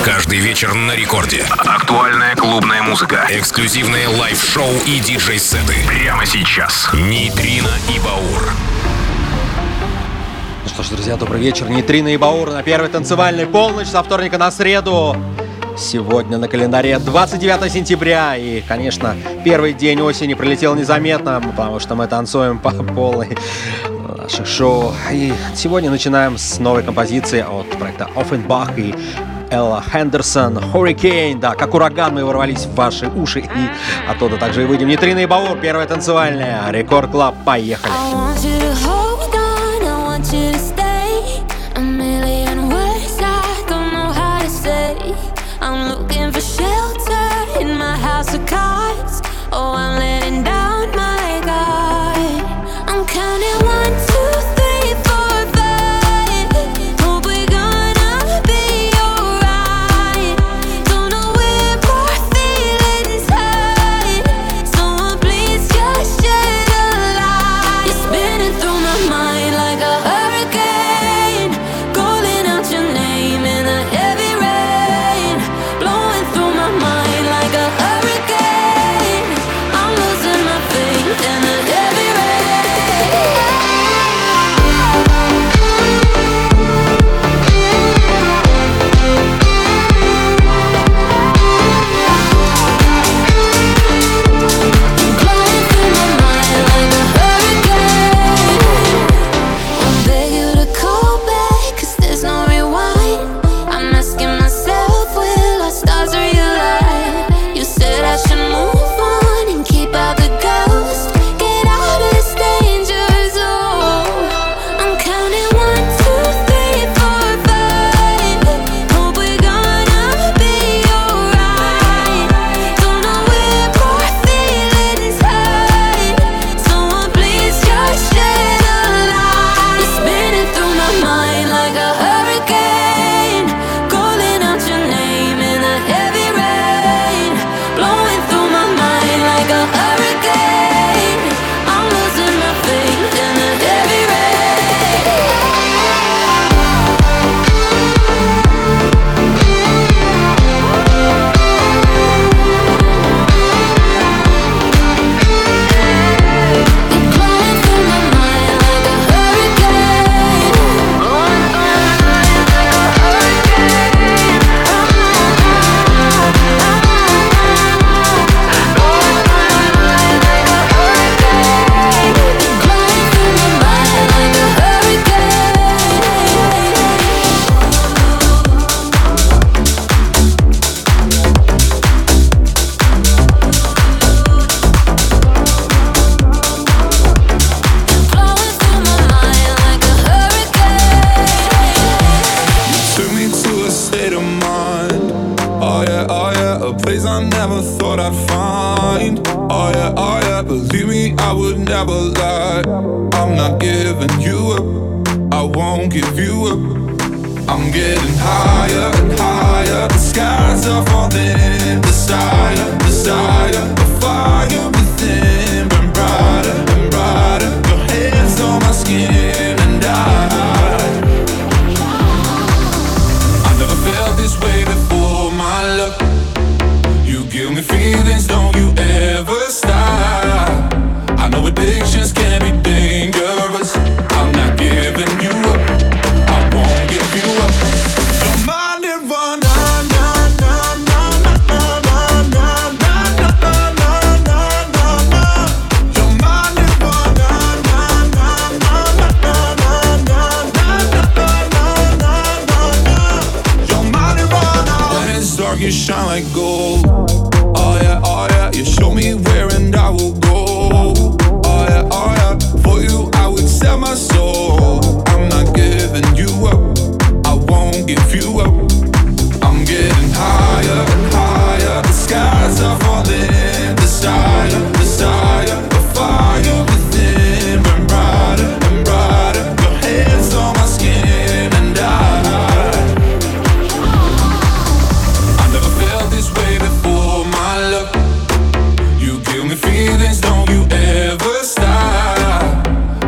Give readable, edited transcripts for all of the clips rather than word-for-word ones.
Каждый вечер на рекорде. Актуальная клубная музыка. Эксклюзивные лайв-шоу и диджей-сеты. Прямо сейчас. Нейтрино и Баур. Ну что ж, друзья, добрый вечер. Нейтрино и Баур на первой танцевальной полночь со вторника на среду. Сегодня на календаре 29 сентября. И, конечно, первый день осени пролетел незаметно, потому что мы танцуем по полной наших шоу. И сегодня начинаем с новой композиции от проекта Offenbach и Элла Хендерсон, Hurricane. Да, как ураган мы ворвались в ваши уши. И оттуда также и выйдем. Нейтрино и Баур, первая танцевальная. Рекорд Клаб, поехали. Oh, I'm letting down my guard. I'm counting 1, 2, 3, 4, 5. Hope we're gonna be alright. Don't know where my feelings hide. Someone please just shed a light. You're spinning through my mind like a hurricane, calling out your name in a heavy rain, blowing through my mind like a hurricane.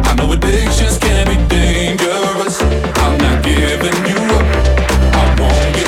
Addictions can be dangerous. I'm not giving you up. I won't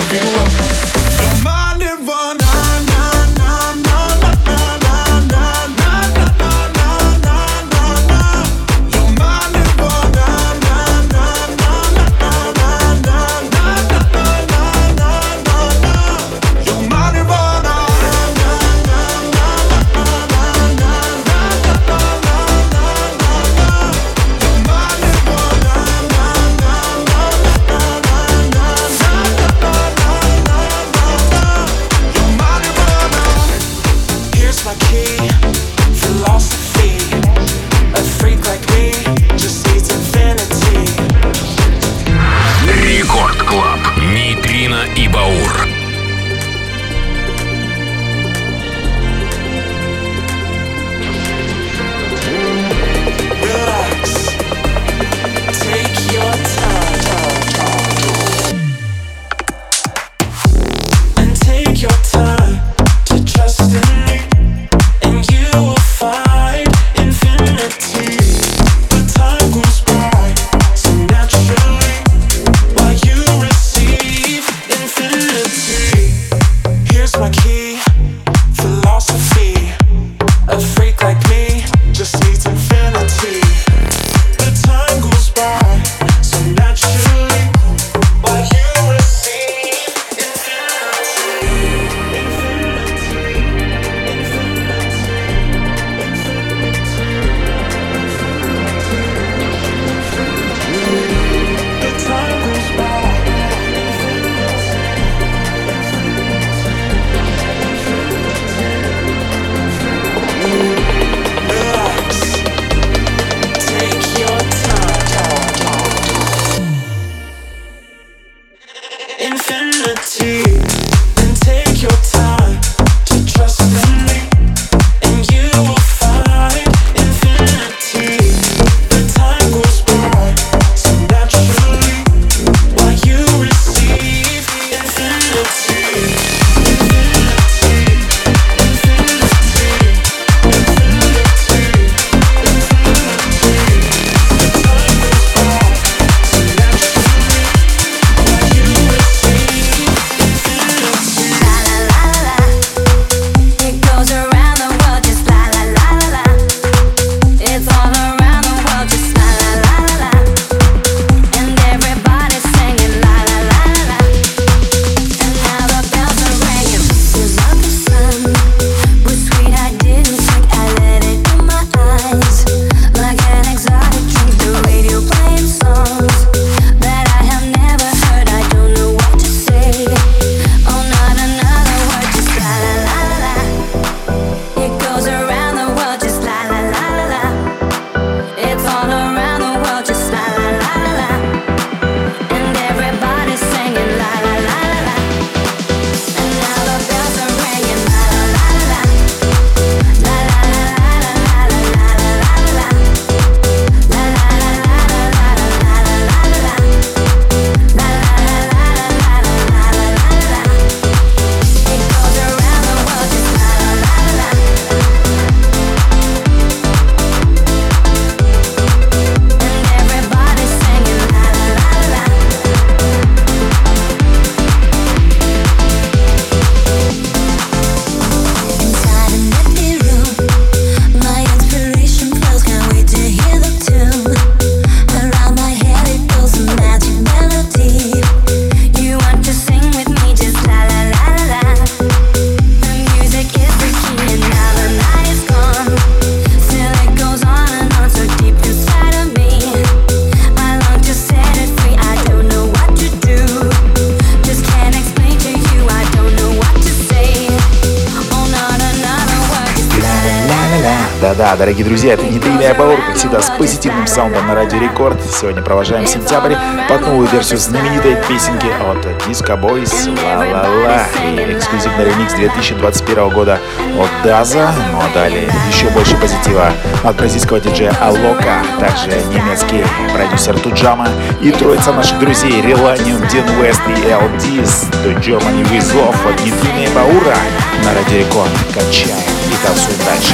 Да-да, дорогие друзья, это Нитрина и Баур, как всегда, с позитивным саундом на Радио Рекорд. Сегодня провожаем сентябрь под новую версию знаменитой песенки от Disco Boys «Ла-ла-ла» и эксклюзивный ремикс 2021 года от Даза. Ну а далее еще больше позитива от бразильского диджея Алока, также немецкий продюсер Туджама и троица наших друзей Relanium, Дин Уэст и LDs The Germany with Love от Нитрина и Баура на Радио Рекорд. Качаем и танцуем дальше.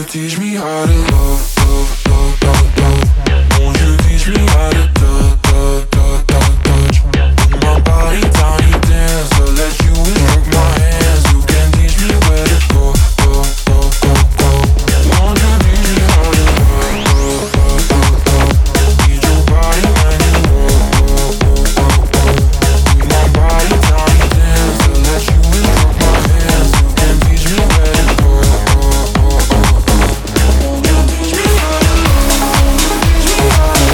teach me how to love, love, love, love, love? Won't you teach me how to touch, touch, touch, touch, touch? Put my body down, you dance, so let you work my hands. You can teach me where to go, go, go, go, go. Won't you teach me how to love, love, love, love, love? Need your body when you walk, walk, walk, walk, walk. Put my body down, you dance, so let you work my hands. You can teach me where to go, go, go, go, go. Won't you teach me how to love, teach me how to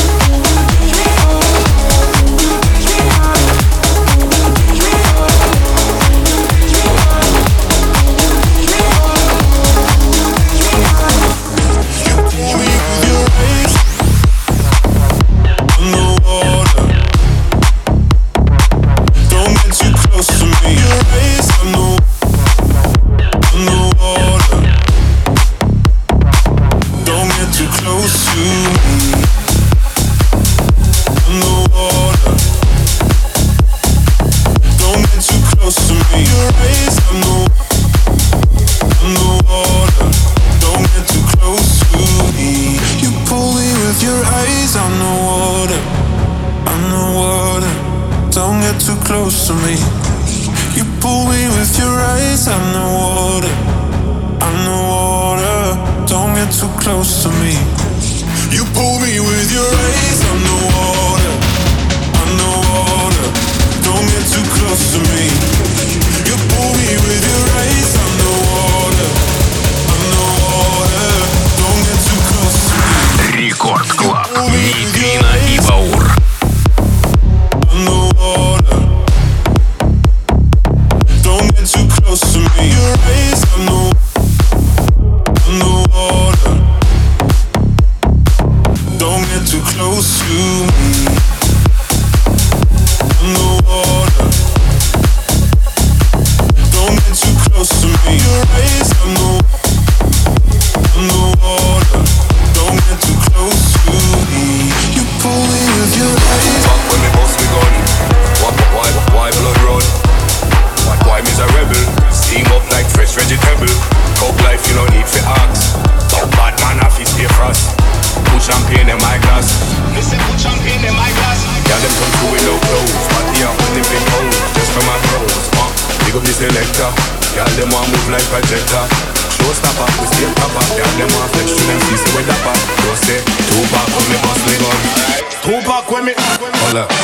close to me. You pull me with your eyes, I'm the water. I'm the water. Don't get too close to me. You pull me with your eyes, I'm the water. I'm the water. Don't get too close to me. You pull me with your eyes, I'm the water. I'm the water. Don't get too close to me. Рекорд Клаб. Нейтрино и Баур. I'm the water. Don't get too close to me. Your eyes, I'm the water. Don't get too close to me. I'm the water. Don't get too close to me. Your eyes, I'm the water. Don't get too close to me. You pull me with your eyes. Fuck when me bust me gun. Why blood run? Why me's a rebel? Steam up like fresh vegetable. Coke life you no need for ask. Bad man have his stay frost. Put champagne in my glass. Listen, put champagne in my glass. Yeah, them come through with no clothes. Party up when they big hoes. Just for my bros. Big up the selector. Yeah, them want move like projector. Showstopper, we stay proper. Yeah, them want flex to them see with that back. Don't say, Tupac when me bust me gun. Tupac when me. Hold up.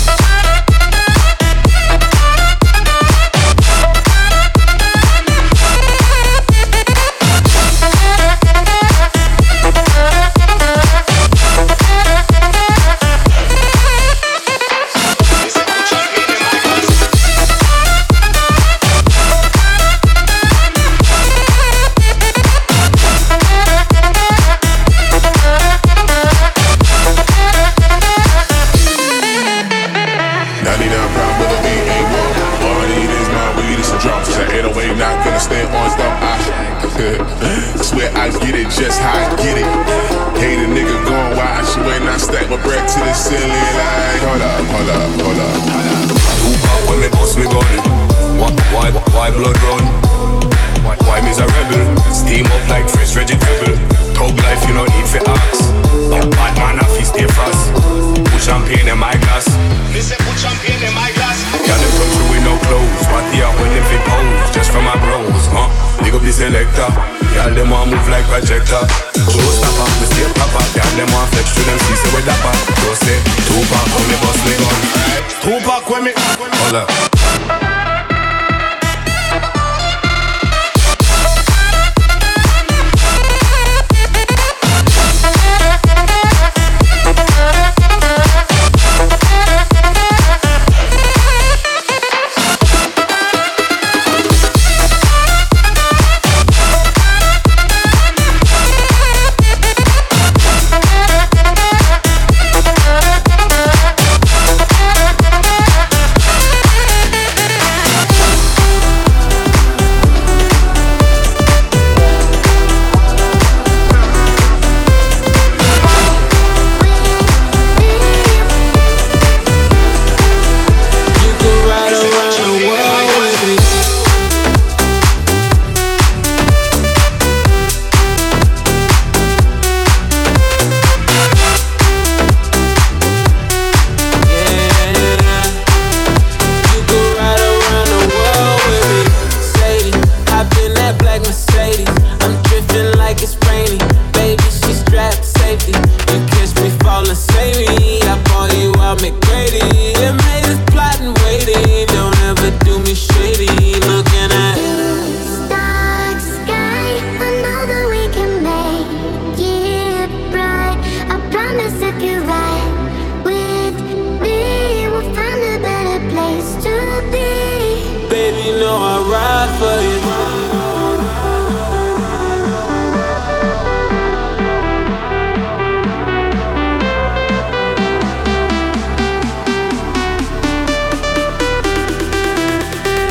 Swear I get it just how I get it. Hate a nigga going wild. She wait, I stack my bread to the ceiling like, hold up. Tupac when me bust me gun. Why blood run? Why me's a rebel? Steam up like fresh vegetable. Thug life you no need for ask. Bad man have his stay frost. Put champagne in my glass. Listen, put champagne in my glass. Yeah, them come through with no clothes. Party out when them fit pose. Just for my bros, Big up the selector. Yeah, them want move like projector. Showstopper, we stay proper. Yeah, them want flex to them see with that back. Don't say, Tupac when me bust me gun. Tupac when me. Hold up.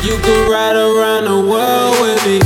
You could ride around the world with me.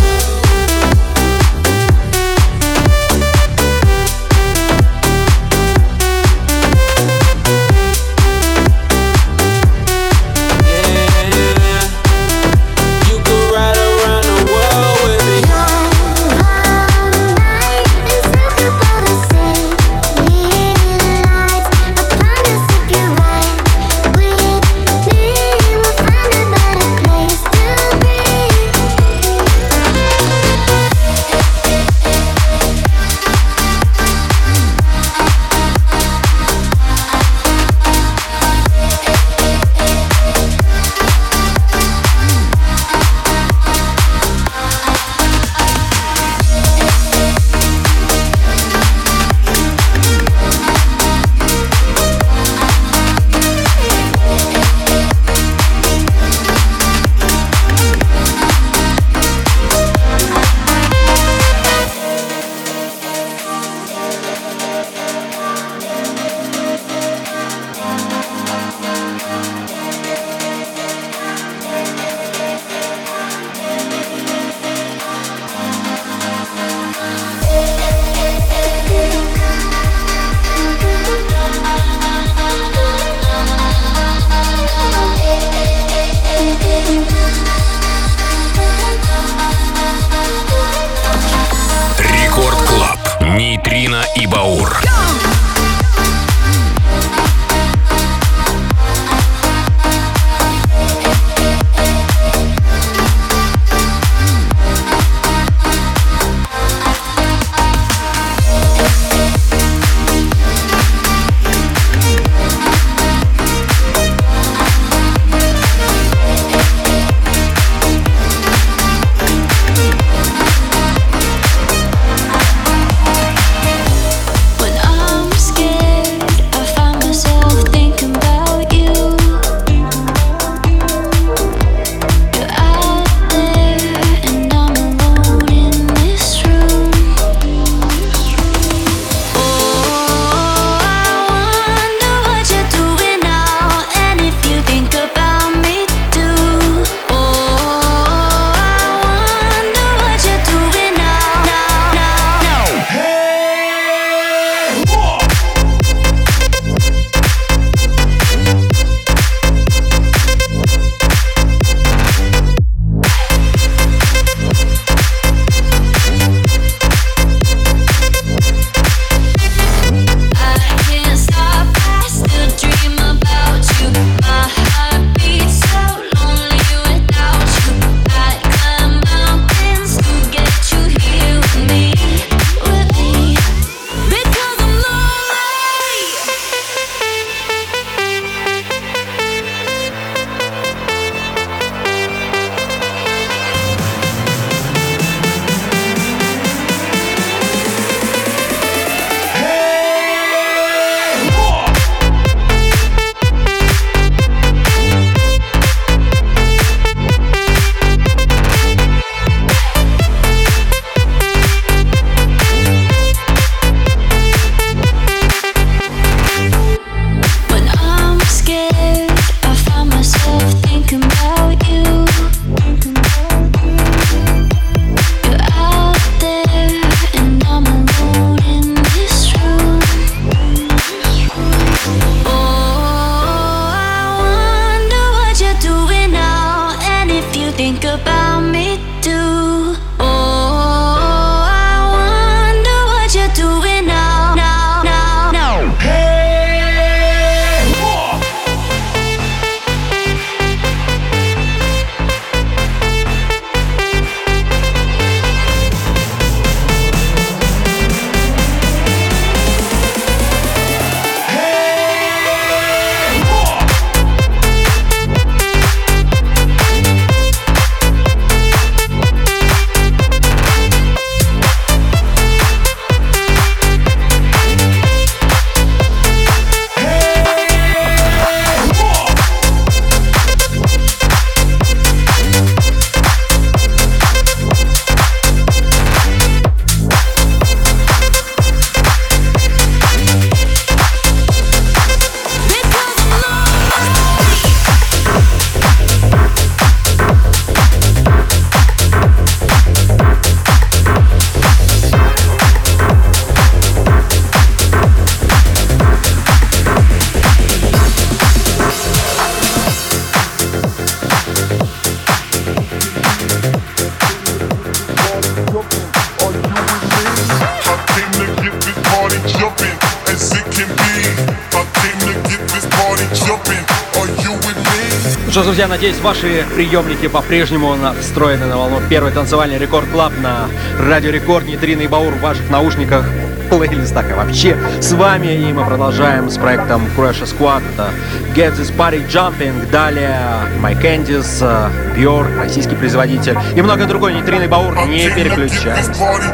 что ж, друзья, надеюсь, ваши приемники по-прежнему настроены на волну первый танцевальный Рекорд Клаб на Радио Рекорд. Нитрина и Баур в ваших наушниках, плейлистах и вообще с вами. И мы продолжаем с проектом Crash Squad. Это Get This Party Jumping. Далее My Candies, Björk, российский производитель и многое другое. Нитрина и Баур, не переключайтесь.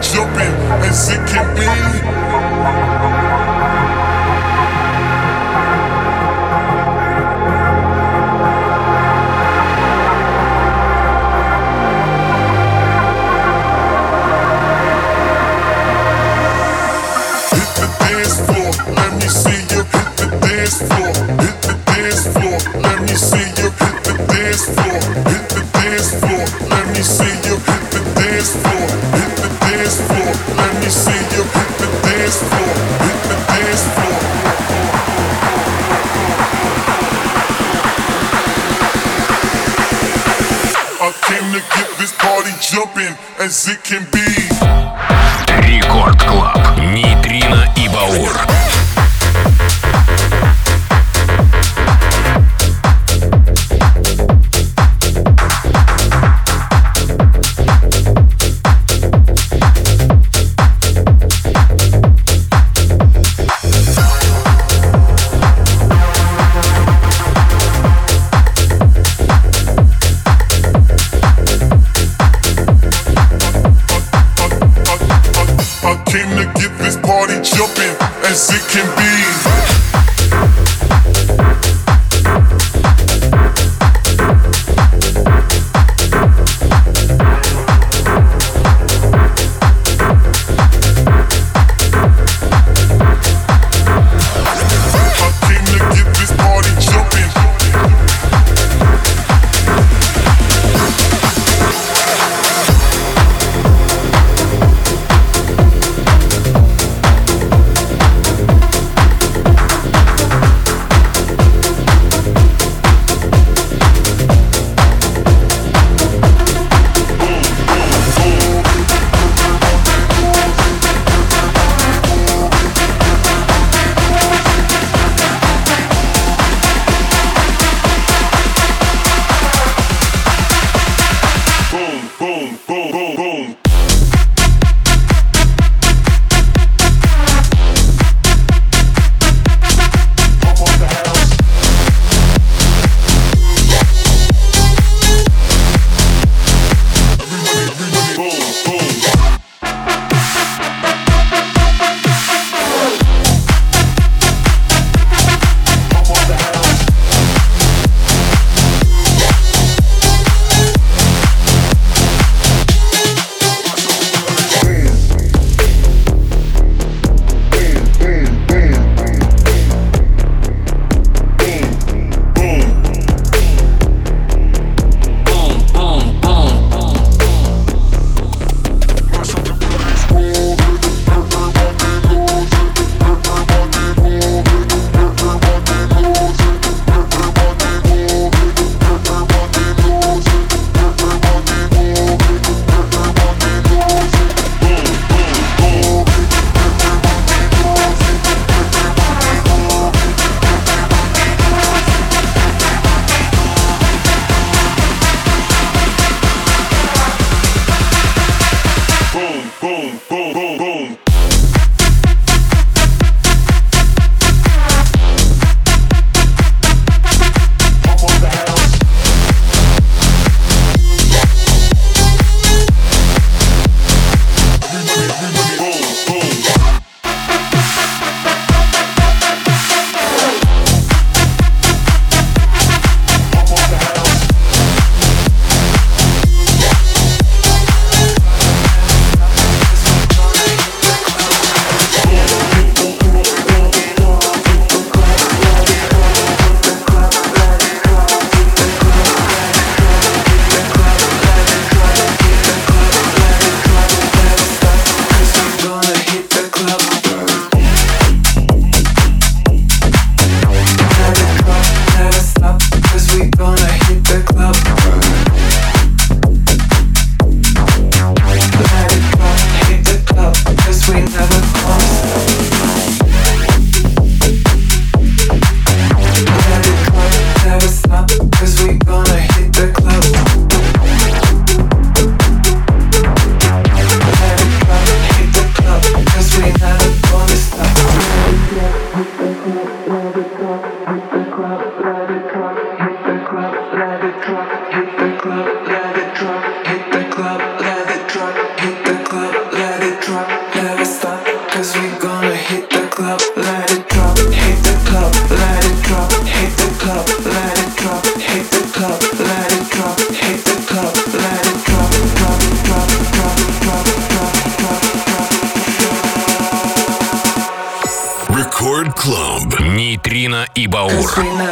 As it can be. Рекорд Клаб. Нитрина и Баур. As it can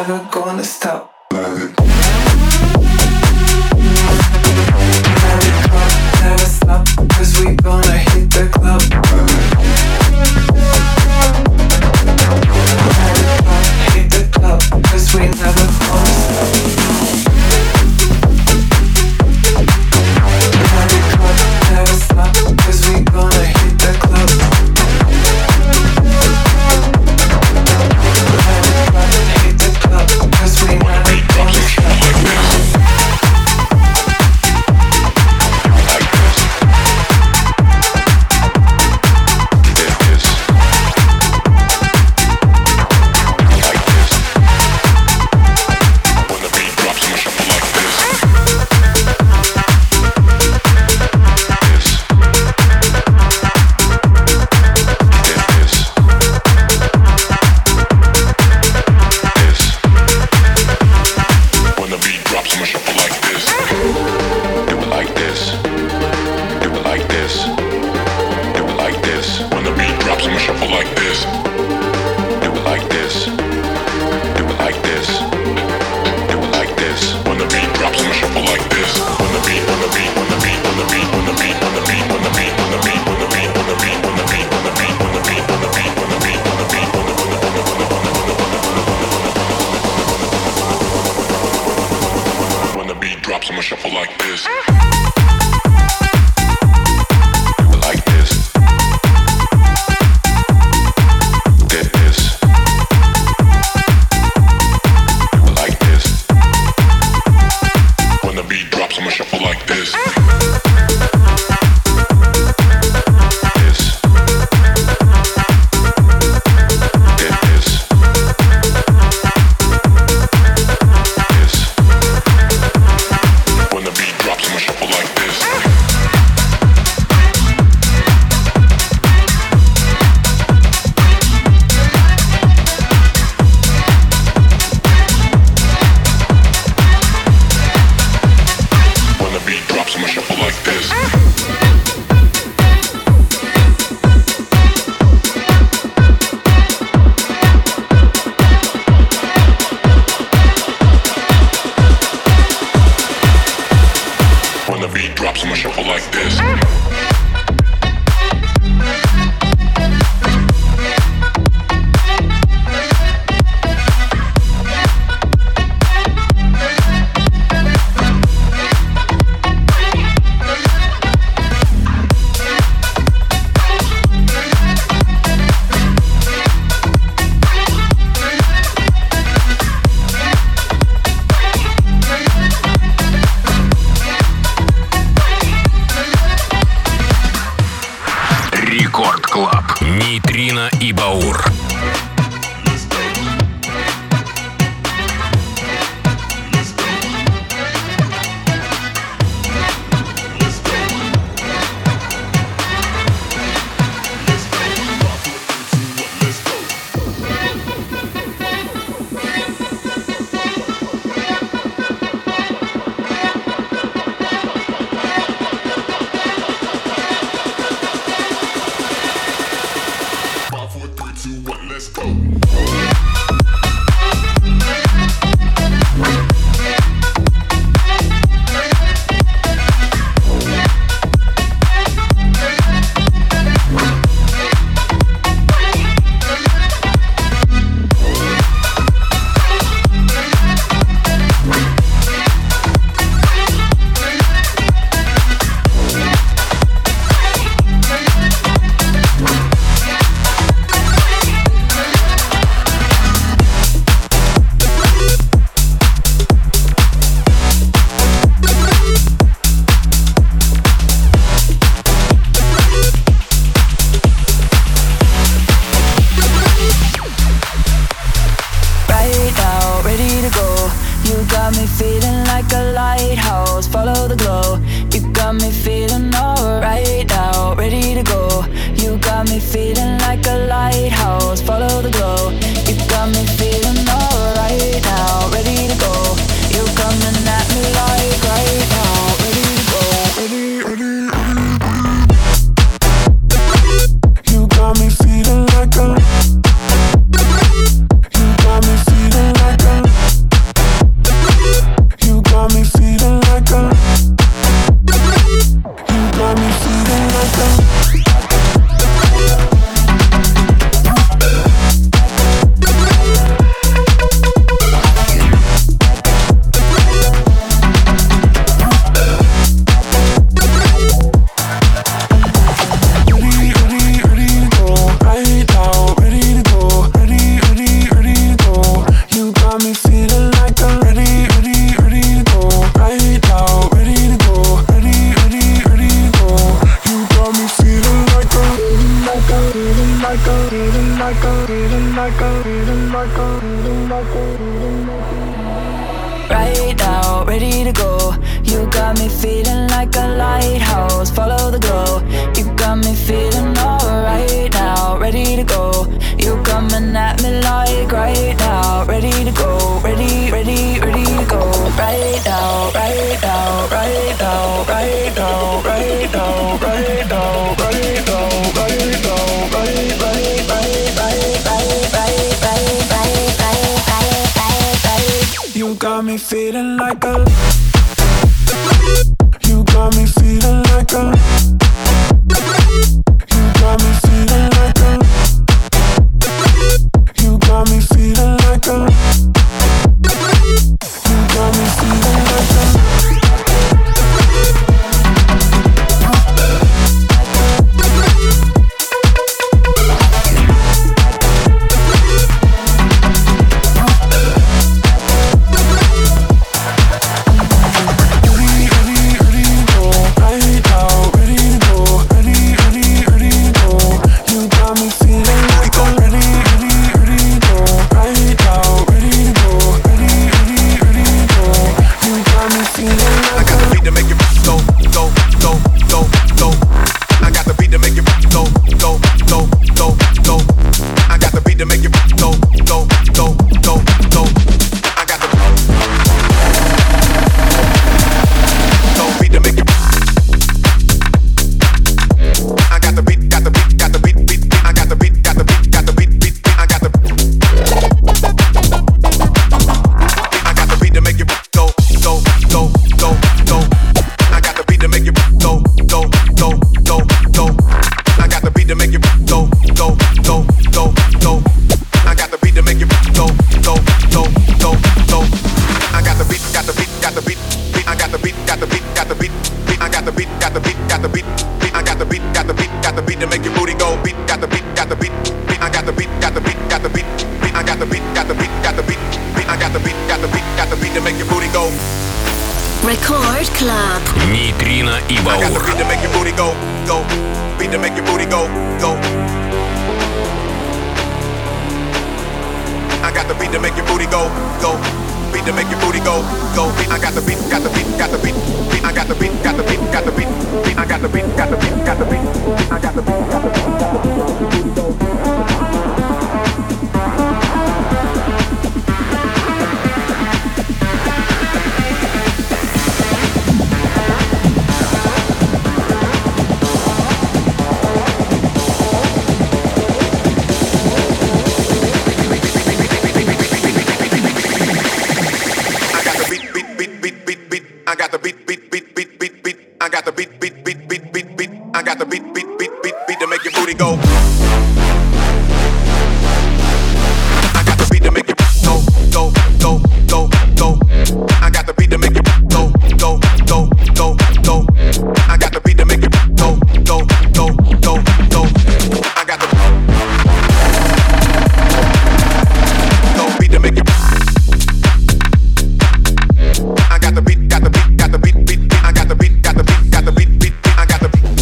never gonna stop. Never stop, 'cause we gonna hit the club. Hit the club, 'cause we never gonna stop. Never stop, 'cause we gonna hit the club. Hit the club, 'cause we never gonna stop. Нейтрино и Баур. You got me feeling like a You got me feeling like a lighthouse, follow the glow. You got me feeling alright now, ready to go. You coming at me like right now, ready to go, ready to go. Right now, right now, right now, right now, right now, right now, right now, right now, right. You got me feeling like a. You got me feeling like a. You got me feeling like a. You got me feeling like a. You got me feeling like a. Record Club. Нейтрино и Баур. I got the beat to make your booty go, go. Beat to make your booty go, go. I got the beat to make your booty go, go. Beat to make your booty go, go. I got the beat, got the beat, got the beat. I got the beat, got the beat, got the beat. I got the beat, got the beat, got the beat. I got the beat, got the beat, got the beat. I got the beat, beat, beat, beat, beat, beat. I got the beat, beat, beat, beat, beat, beat. I got the beat, beat, beat, beat, beat to make your booty go. I got the beat to make your go, go, go, go, go. I got the beat to make your go, go, go, go, go. I got the beat to make your go, go, go, go, go. I got the go beat to make your. I got the beat, got the beat, got the beat, beat, beat. I got the beat, got the beat, got the beat, beat, beat. I got the beat.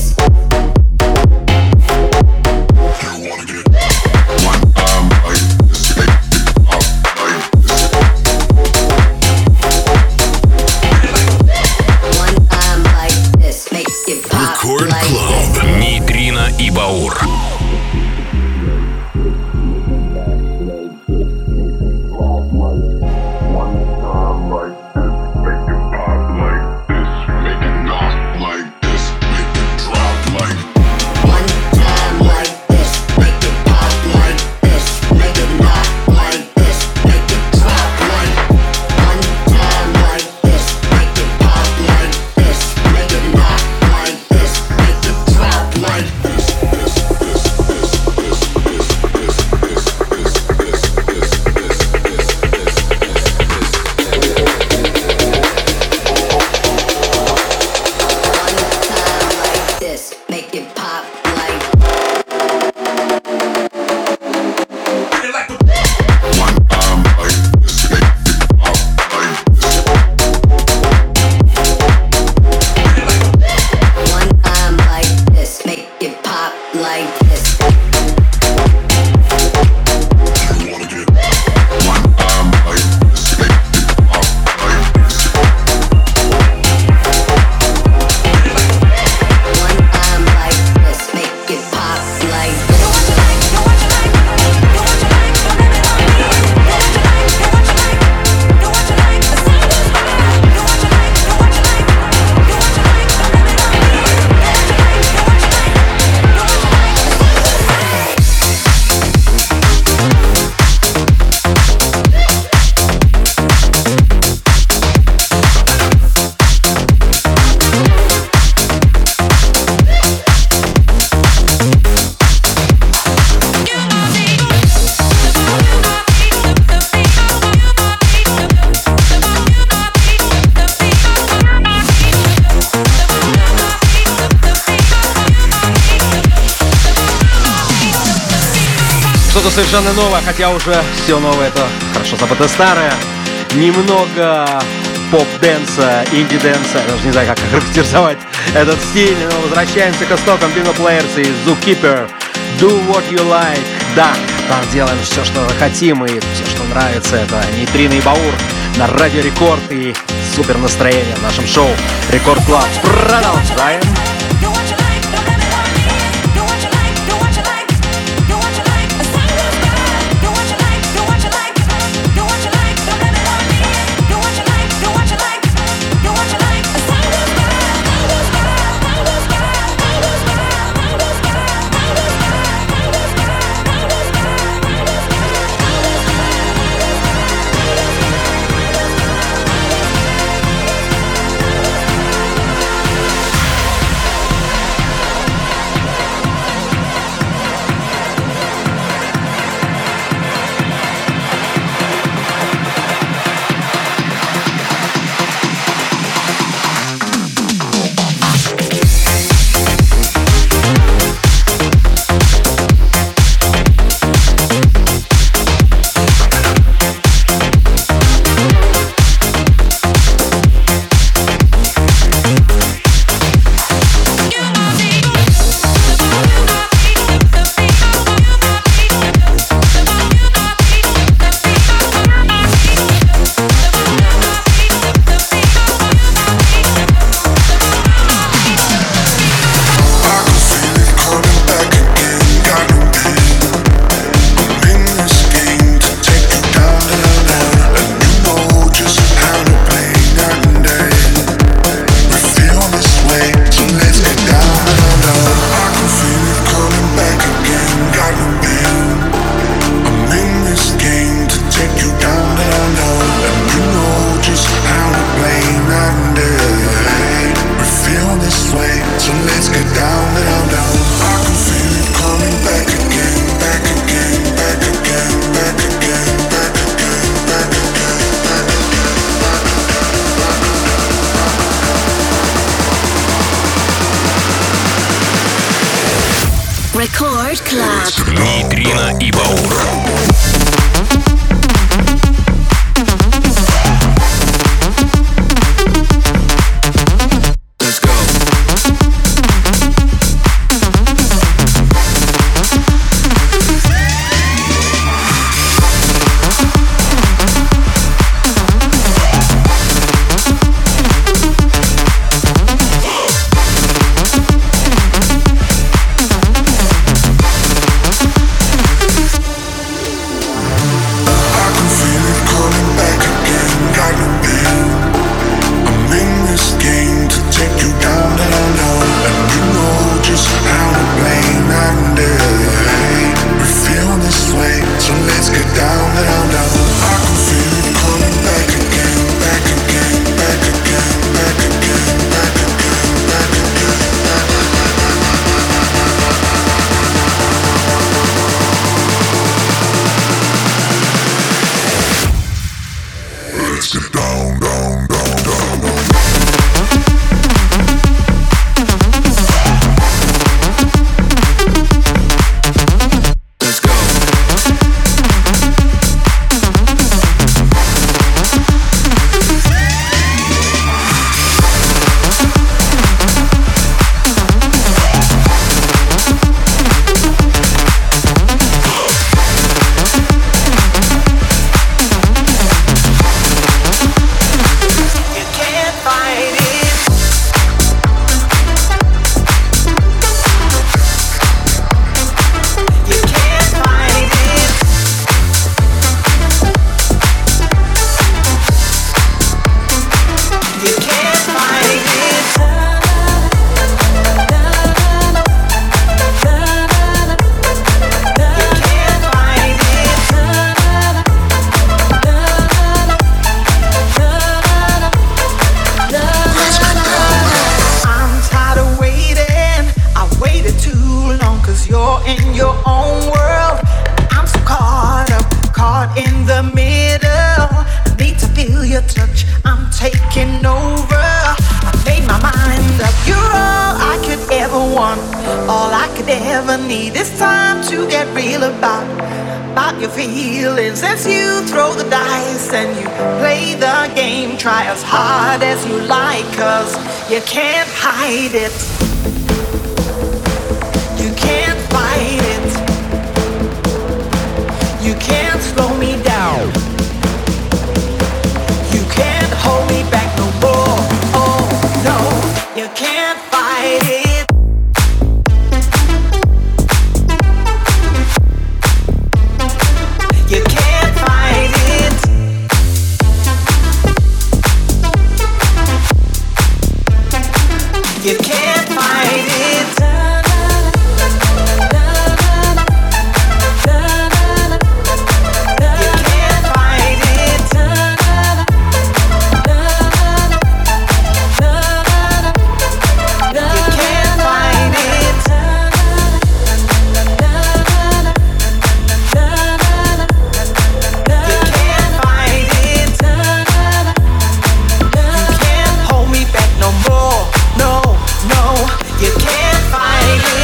Что-то совершенно новое, хотя уже все новое — это хорошо забытое старое. Немного поп-дэнса, инди-дэнса, я даже не знаю, как характеризовать этот стиль, но возвращаемся к истокам Bingo Players и Zookeeper. Do what you like. Да, там делаем все, что хотим, и все, что нравится. Это Нейтрино и Баур на Радио Рекорд, и супер настроение в нашем шоу Рекорд Клаб. Продолжаем. Record Club. Нейтрино и Баур. Let's go. just how to play night and day. We feel this way, so let's get down, down, down. I can feel it coming back again, back again, back again, back again, back again, back again, back again. Let's get down, down, down, down, down. All I could ever need is time to get real about your feelings. As you throw the dice and you play the game, try as hard as you like, 'cause you can't hide it. You can't fight it. You can't slow me down. You can't hold me back no more. Oh no, you can't fight it. You can't fight it. You can't fight it. You can't fight it. You can't fight it. You can't hold me back no more. No, you can't fight it.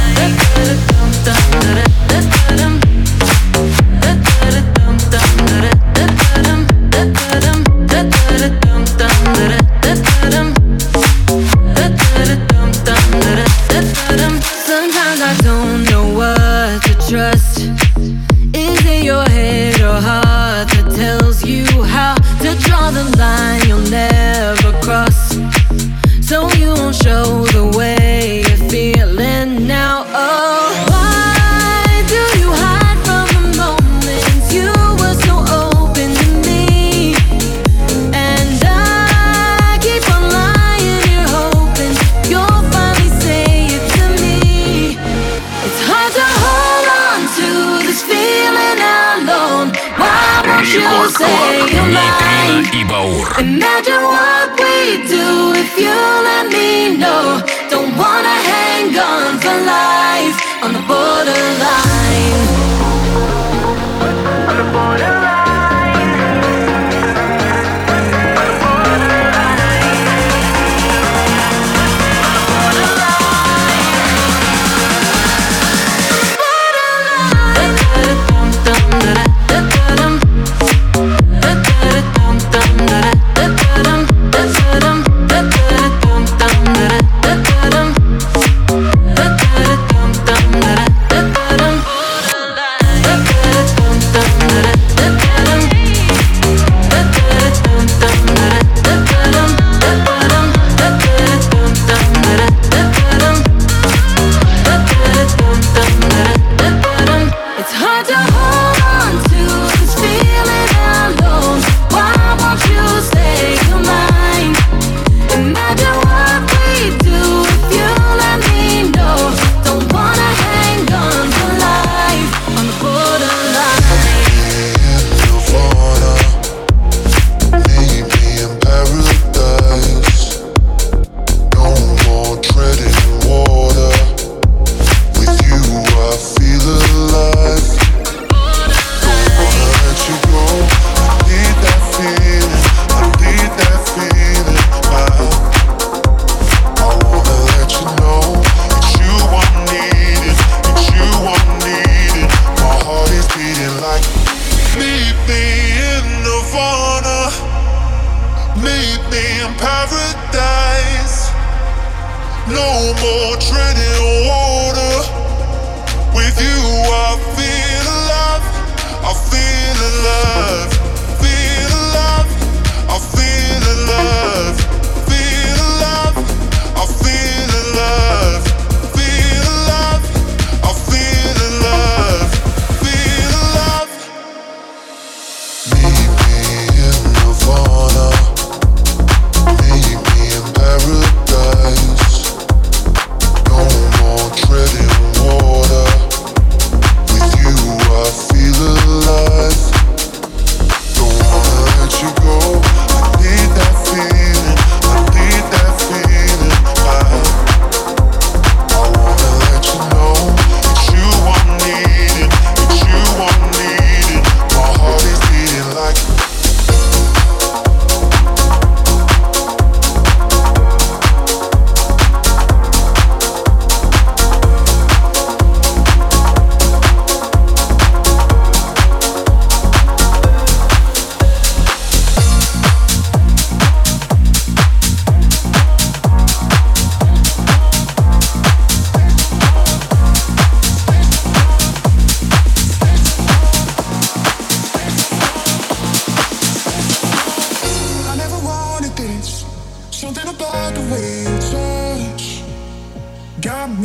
Sometimes I don't know what to trust. Is it your head or heart that tells you how to draw the line you'll never cross? So you won't show the way you're feeling now. Oh, why do you hide from the moments you were so open to me? And I keep on lying, you're hoping you'll finally say it to me. It's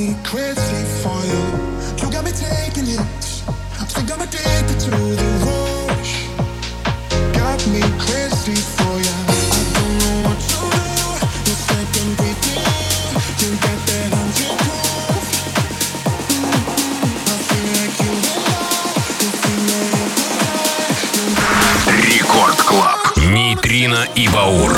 me crazy for you. You got me taking it. Think I'm addicted to the rush. Got me crazy for you. I don't know what to do. You're second breathing. You got that under proof. I feel like you alive. You feel like Рекорд Клаб. Нейтрино и Баур.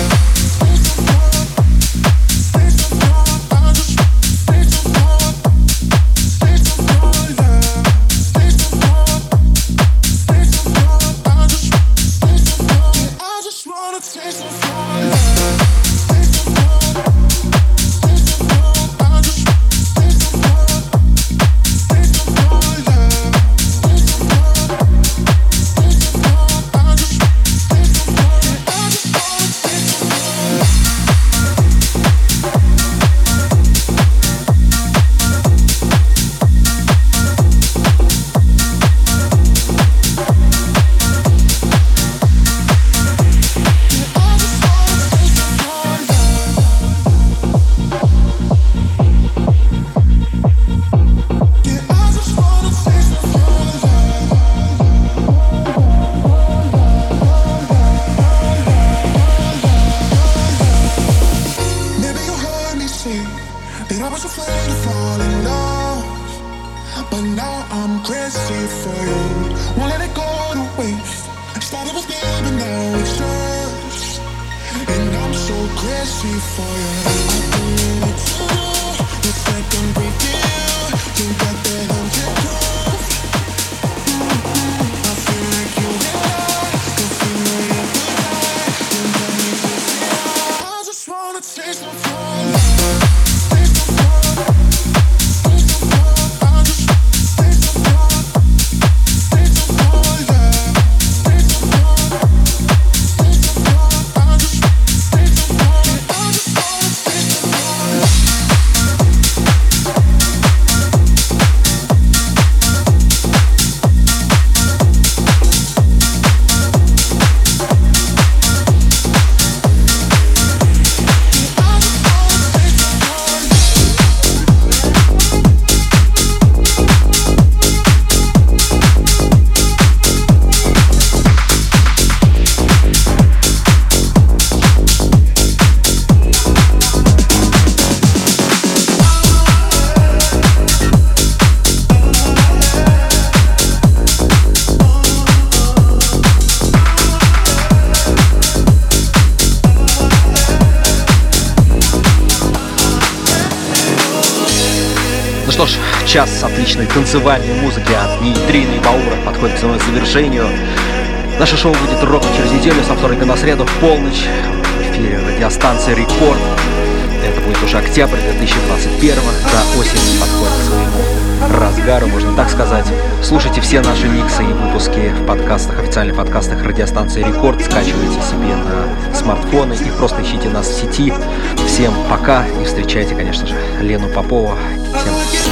Что ж, час отличной танцевальной музыки от Нейтрино и Баура подходит к своему завершению. Наше шоу будет ровно через неделю, со вторника на среду в полночь в эфире радиостанции Рекорд. Это будет уже октябрь 2021, да, осень подходит к своему разгару, можно так сказать. Слушайте все наши миксы и выпуски в подкастах, официальных подкастах радиостанции Рекорд. Скачивайте себе на смартфоны и просто ищите нас в сети. Всем пока и встречайте, конечно же, Лену Попову. Всем